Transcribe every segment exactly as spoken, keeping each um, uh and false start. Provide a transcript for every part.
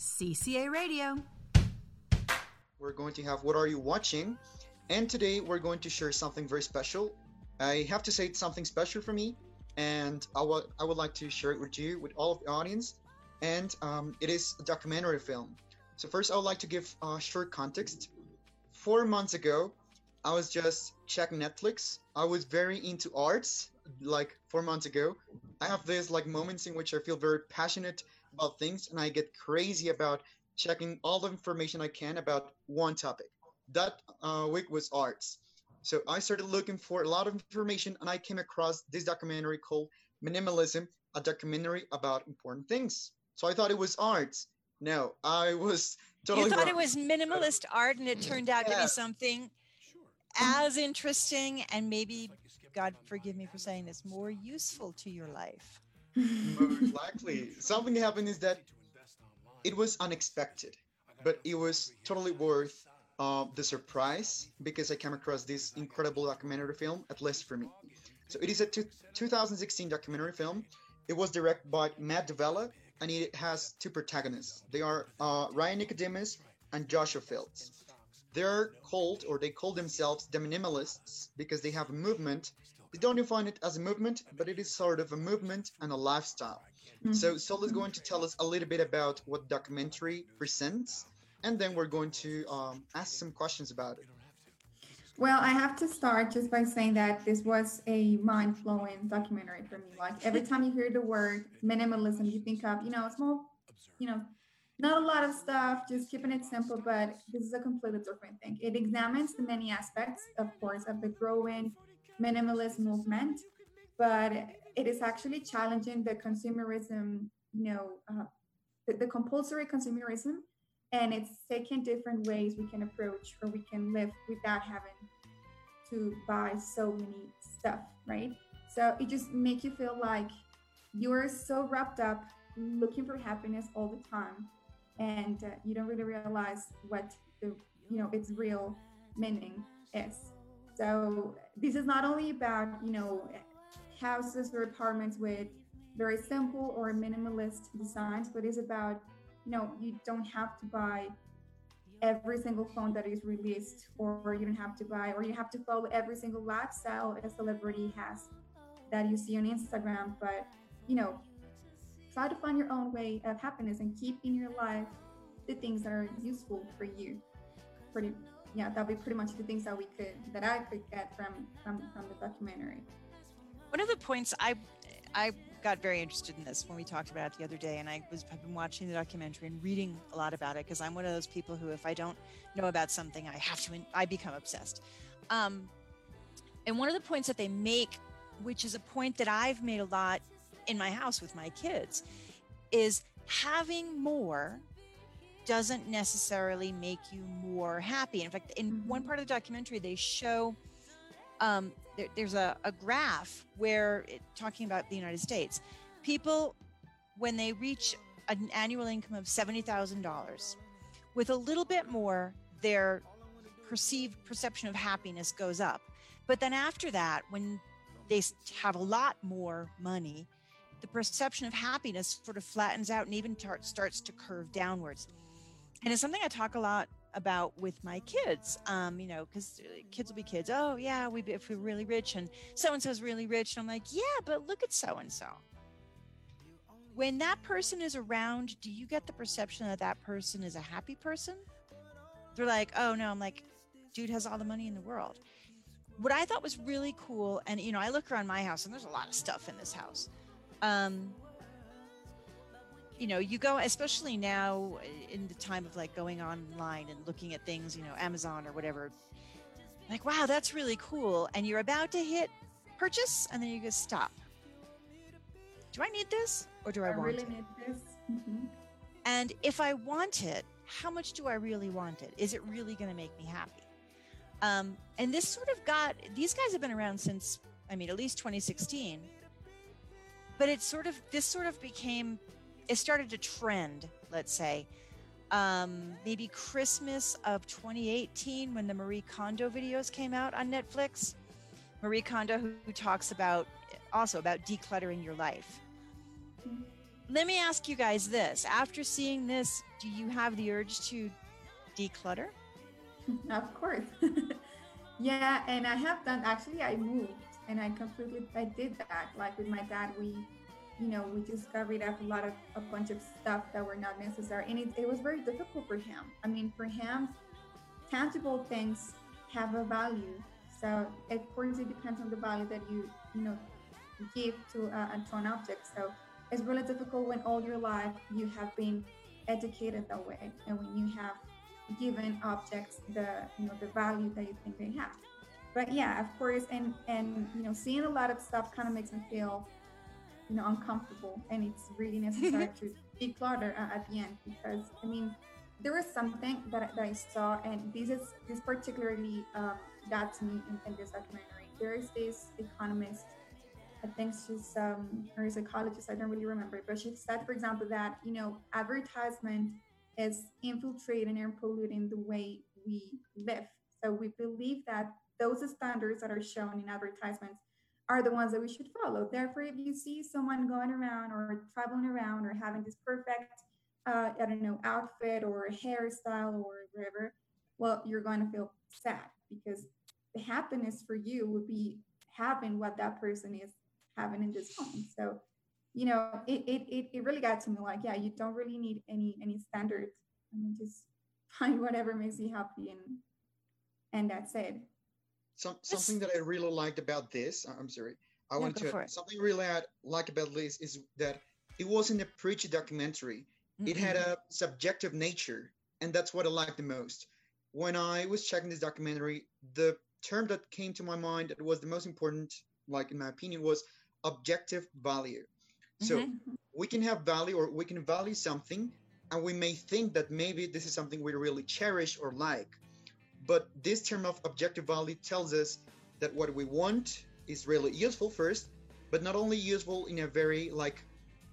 C C A Radio. We're going to have What Are You Watching? And today we're going to share something very special. I have to say it's something special for me, and I would I would like to share it with you, with all of the audience. And um, it is a documentary film. So first, I would like to give a short context. Four months ago, I was just checking Netflix. I was very into arts, like four months ago. I have this like moments in which I feel very passionate about things, and I get crazy about checking all the information I can about one topic. That uh, week was arts. So I started looking for a lot of information, and I came across this documentary called Minimalism, a documentary about important things. So I thought it was arts. No, I was totally You thought wrong. it was minimalist art, and it turned out to be Yes. something as interesting and maybe, God forgive me for saying this, more useful to your life. Most likely. Something happened is that it was unexpected, but it was totally worth uh, the surprise because I came across this incredible documentary film, at least for me. So it is a two, two thousand sixteen documentary film. It was directed by Matt Davella, and it has two protagonists. They are uh, Ryan Nicodemus and Joshua Fields. They're called, or they call themselves, the minimalists because they have a movement. They don't define it as a movement, but it is sort of a movement and a lifestyle. Mhm. So Sol is going to tell us a little bit about what documentary presents, and then we're going to um, ask some questions about it. Well, I have to start just by saying that this was a mind-blowing documentary for me. Like every time you hear the word minimalism, you think of, you know, small, you know, not a lot of stuff, just keeping it simple, but this is a completely different thing. It examines the many aspects, of course, of the growing minimalist movement, but it is actually challenging the consumerism, you know, uh, the, the compulsory consumerism, and it's taking different ways we can approach or we can live without having to buy so many stuff, right? So it just makes you feel like you're so wrapped up looking for happiness all the time, and uh, you don't really realize what the, you know, its real meaning is. So this is not only about, you know, houses or apartments with very simple or minimalist designs, but it's about, you know, you don't have to buy every single phone that is released, or you don't have to buy, or you have to follow every single lifestyle a celebrity has that you see on Instagram. But, you know, try to find your own way of happiness and keep in your life the things that are useful for you. Pretty, yeah, that'll be pretty much the things that we could, that I could get from from, from the documentary. One of the points I I got very interested in this when we talked about it the other day, and I was I've been watching the documentary and reading a lot about it because I'm one of those people who, if I don't know about something, I have to I become obsessed. Um, and one of the points that they make, which is a point that I've made a lot in my house with my kids, is having more doesn't necessarily make you more happy. In fact, in Mhm. one part of the documentary, they show um, there, there's a, a graph where it, talking about the United States, people, when they reach an annual income of seventy thousand dollars, with a little bit more, their perceived perception of happiness goes up. But then after that, when they s- have a lot more money, the perception of happiness sort of flattens out and even tar- starts to curve downwards. And it's something I talk a lot about with my kids, um, you know, because kids will be kids. Oh, yeah, we if we're really rich and so-and-so's really rich. And I'm like, yeah, but look at so-and-so. When that person is around, do you get the perception that that person is a happy person? They're like, oh, no. I'm like, dude has all the money in the world. What I thought was really cool, and, you know, I look around my house, and there's a lot of stuff in this house. Um, you know, you go, especially now in the time of like going online and looking at things, you know, Amazon or whatever, like, wow, that's really cool. And you're about to hit purchase, and then you go, stop. Do I need this, or do I, I want really it? need this. Mhm. And if I want it, how much do I really want it? Is it really going to make me happy? Um, and this sort of got, these guys have been around since, I mean, at least twenty sixteen. But it sort of, this sort of became, it started to trend, let's say, um, maybe Christmas of twenty eighteen when the Marie Kondo videos came out on Netflix. Marie Kondo, who, who talks about, also about decluttering your life. let me ask you guys this. After seeing this, do you have the urge to declutter? Of course. Yeah, and I have done, actually I moved and I completely, I did that. Like with my dad, we, you know, we just got rid of a lot of, a bunch of stuff that were not necessary. And it, it was very difficult for him. I mean, for him, tangible things have a value. So of course it depends on the value that you, you know, give to, uh, to an object. So it's really difficult when all your life you have been educated that way. And when you have given objects the, you know, the value that you think they have. But yeah, of course, and and you know, seeing a lot of stuff kind of makes me feel, you know, uncomfortable, and it's really necessary to declutter uh, at the end, because I mean, there was something that, that I saw, and this is this particularly um, got to me in, in this documentary. There is this economist, I think she's um, or a psychologist, I don't really remember, but she said, for example, that, you know, advertisement is infiltrating and polluting the way we live. So we believe that those standards that are shown in advertisements are the ones that we should follow. Therefore, if you see someone going around or traveling around or having this perfect, uh, I don't know, outfit or hairstyle or whatever, well, you're going to feel sad, because the happiness for you would be having what that person is having in this home. So, you know, it, it, it, it really got to me like, yeah, you don't really need any, any standards. I mean, just find whatever makes you happy, and, and that's it. Some, something that I really liked about this, I'm sorry, I No, want go for to, it. something really I like about this is that it wasn't a preachy documentary. It had Mm-mm. a subjective nature, and that's what I liked the most. When I was checking this documentary, the term that came to my mind that was the most important, like in my opinion, was objective value. So Mhm. we can have value, or we can value something, and we may think that maybe this is something we really cherish or like. But this term of objective value tells us that what we want is really useful first, but not only useful in a very like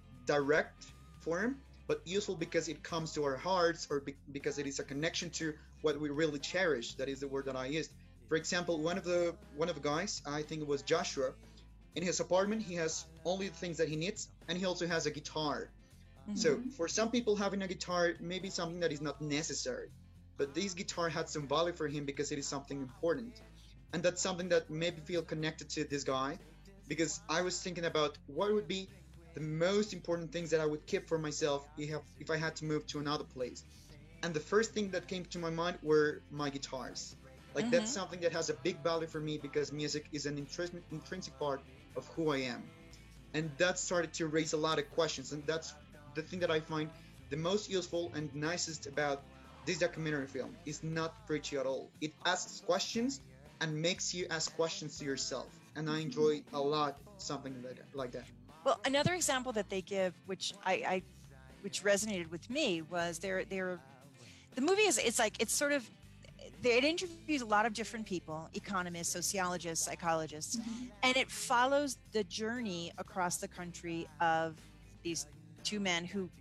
direct form, but useful because it comes to our hearts, or be- because it is a connection to what we really cherish. That is the word that I used. For example, one of the one of the guys, I think it was Joshua, in his apartment he has only the things that he needs, and he also has a guitar. So Mhm. for some people, having a guitar may be something that is not necessary, but this guitar had some value for him because it is something important. And that's something that made me feel connected to this guy, because I was thinking about what would be the most important things that I would keep for myself if, if I had to move to another place. And the first thing that came to my mind were my guitars. Like that's Mhm. something that has a big value for me, because music is an intrinsic, intrinsic part of who I am. And that started to raise a lot of questions, and that's the thing that I find the most useful and nicest about this documentary film. Is not preachy at all. It asks questions and makes you ask questions to yourself, and I enjoy a lot something like that, like that. Well, another example that they give, which I, I which resonated with me, was they're they're the movie is it's like it's sort of it interviews a lot of different people, economists, sociologists, psychologists, Mhm. and it follows the journey across the country of these two men who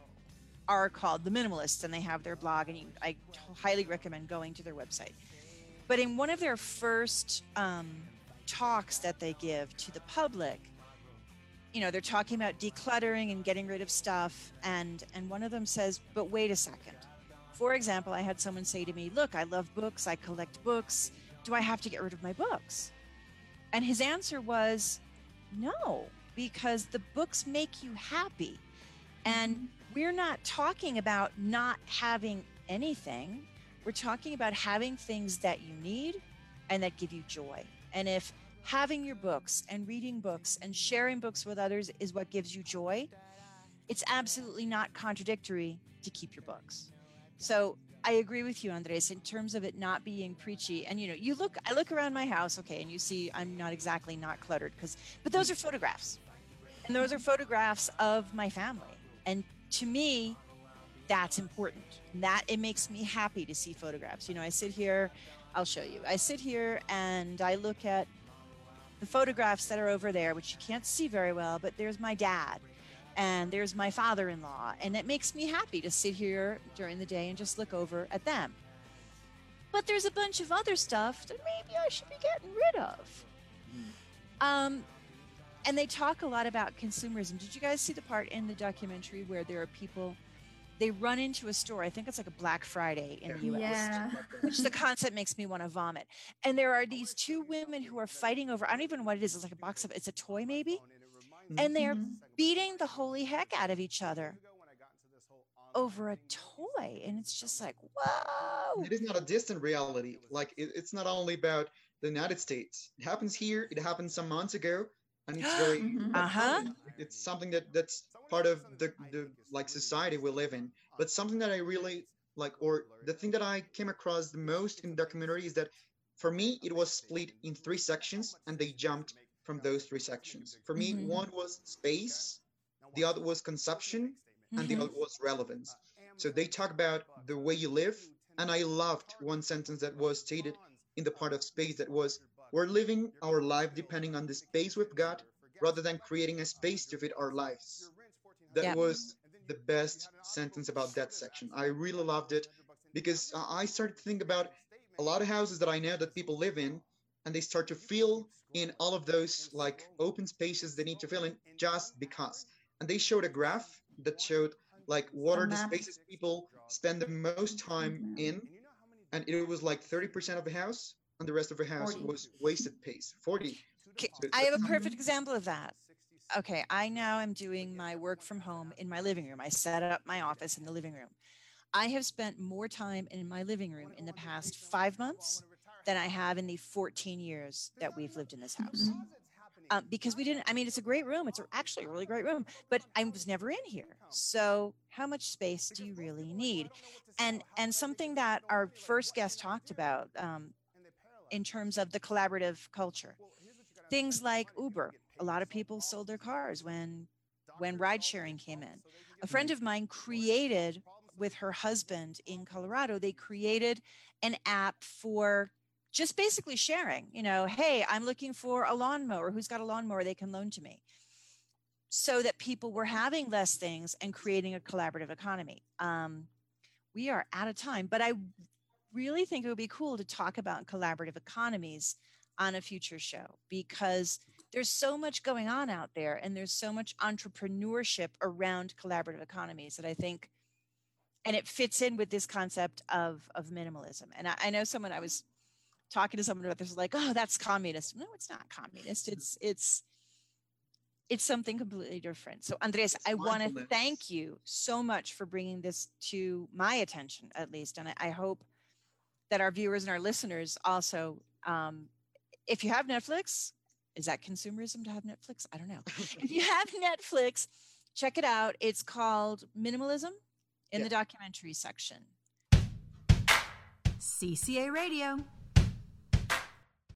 are called the minimalists, and they have their blog, and you, I t- highly recommend going to their website. But in one of their first um, talks that they give to the public, you know, they're talking about decluttering and getting rid of stuff, and and one of them says, but wait a second. For example, I had someone say to me, look, I love books, I collect books, do I have to get rid of my books? And his answer was no, because the books make you happy. And we're not talking about not having anything. We're talking about having things that you need and that give you joy. And if having your books and reading books and sharing books with others is what gives you joy, it's absolutely not contradictory to keep your books. So I agree with you, Andres, in terms of it not being preachy. And you know, you look, I look around my house, okay, and you see I'm not exactly not cluttered, because, but those are photographs, and those are photographs of my family. And to me, that's important. That it makes me happy to see photographs. You know, I sit here, I'll show you. I sit here and I look at the photographs that are over there, which you can't see very well, but there's my dad and there's my father-in-law, and it makes me happy to sit here during the day and just look over at them. But there's a bunch of other stuff that maybe I should be getting rid of. Um, and they talk a lot about consumerism. Did you guys see the part in the documentary where there are people, they run into a store, I think it's like a Black Friday in the U S, Yeah. which the concept makes me want to vomit. And there are these two women who are fighting over, I don't even know what it is, it's like a box of, it's a toy maybe, and they're Mhm. beating the holy heck out of each other over a toy. And it's just like, whoa. It is not a distant reality. Like it, it's not only about the United States. It happens here. It happened some months ago, and it's very Mhm. Uh-huh. it's something that that's part of the the like society we live in. But something that I really like, or the thing that I came across the most in the documentary is that for me it was split in three sections, and they jumped from those three sections. For me, Mhm. one was space, the other was consumption, and the Mhm. other was relevance. So they talk about the way you live, and I loved one sentence that was stated in the part of space that was, we're living our life depending on the space we've got rather than creating a space to fit our lives. That Yep. was the best sentence about that section. I really loved it because uh, I started to think about a lot of houses that I know that people live in, and they start to fill in all of those like open spaces they need to fill in just because. And they showed a graph that showed like what A are the map. spaces people spend the most time in, and it was like thirty percent of a house, and the rest of a house forty. was wasted space. forty. Okay, So I have a that's perfect example of that. Okay, I now am doing my work from home in my living room. I set up my office in the living room. I have spent more time in my living room in the past five months than I have in the fourteen years that we've lived in this house. Mhm. Um, because we didn't, I mean, it's a great room. It's a- actually a really great room, but I was never in here. So how much space do you really need? And, and something that our first guest talked about um, in terms of the collaborative culture, things like Uber. A lot of people sold their cars when, when ride sharing came in. A friend of mine created with her husband in Colorado, they created an app for just basically sharing, you know, hey, I'm looking for a lawnmower. Who's got a lawnmower they can loan to me? So that people were having less things and creating a collaborative economy. Um, we are out of time, but I really think it would be cool to talk about collaborative economies on a future show because there's so much going on out there and there's so much entrepreneurship around collaborative economies that I think, and it fits in with this concept of, of minimalism. And I, I know someone, I was talking to someone about this, like, oh, that's communist. No, it's not communist. It's, it's, it's something completely different. So Andres, it's I want to mindfulness. thank you so much for bringing this to my attention, at least. And I, I hope that our viewers and our listeners also, um, if you have Netflix, is that consumerism to have Netflix? I don't know. If you have Netflix, check it out. It's called Minimalism in Yeah. the documentary section. C C A Radio.